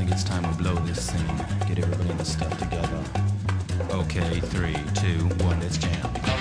it's time to blow this scene. Get everybody in the stuff together. Okay, 3, 2, 1, let's jam.